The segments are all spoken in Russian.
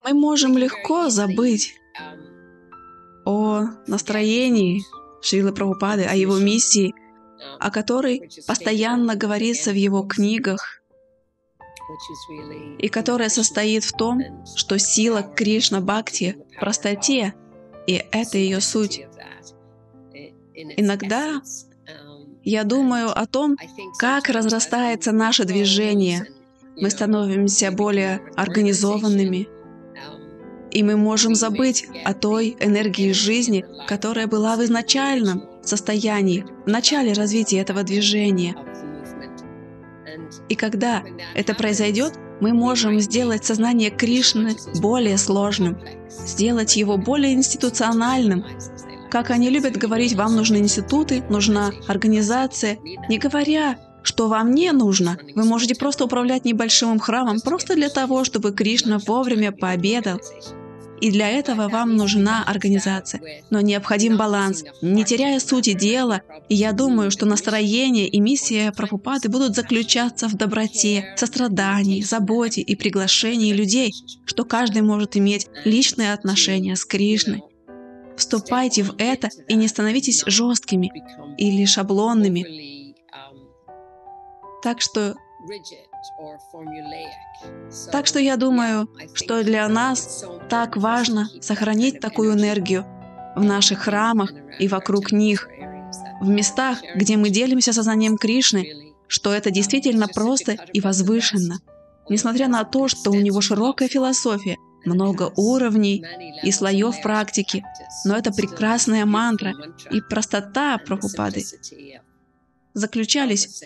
мы можем легко забыть о настроении Шрилы Прабхупады, о его миссии, о которой постоянно говорится в его книгах, и которая состоит в том, что сила Кришна-бхакти в простоте, и это ее суть. Иногда я думаю о том, как разрастается наше движение. Мы становимся более организованными, и мы можем забыть о той энергии жизни, которая была в изначальном состоянии, в начале развития этого движения. И когда это произойдет, мы можем сделать сознание Кришны более сложным, сделать его более институциональным. Как они любят говорить, вам нужны институты, нужна организация, не говоря, что вам не нужно. Вы можете просто управлять небольшим храмом, просто для того, чтобы Кришна вовремя пообедал. И для этого вам нужна организация. Но необходим баланс, не теряя сути дела. И я думаю, что настроение и миссия Прабхупады будут заключаться в доброте, сострадании, заботе и приглашении людей, что каждый может иметь личные отношения с Кришной. Вступайте в это и не становитесь жесткими или шаблонными. Так что я думаю, что для нас так важно сохранить такую энергию в наших храмах и вокруг них, в местах, где мы делимся сознанием Кришны, что это действительно просто и возвышенно. Несмотря на то, что у него широкая философия, много уровней и слоев практики, но это прекрасная мантра и простота Прабхупады заключались.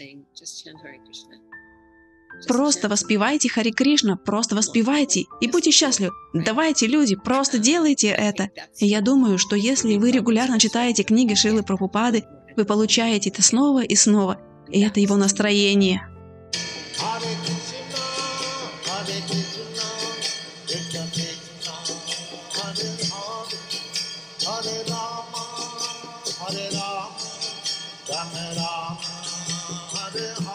Просто воспевайте Хари Кришна, просто воспевайте и будьте счастливы. Давайте, люди, просто делайте это. И я думаю, что если вы регулярно читаете книги Шрилы Прабхупады, вы получаете это снова и снова. И это его настроение. Hare Rama, Rama Rama, Hare Hare.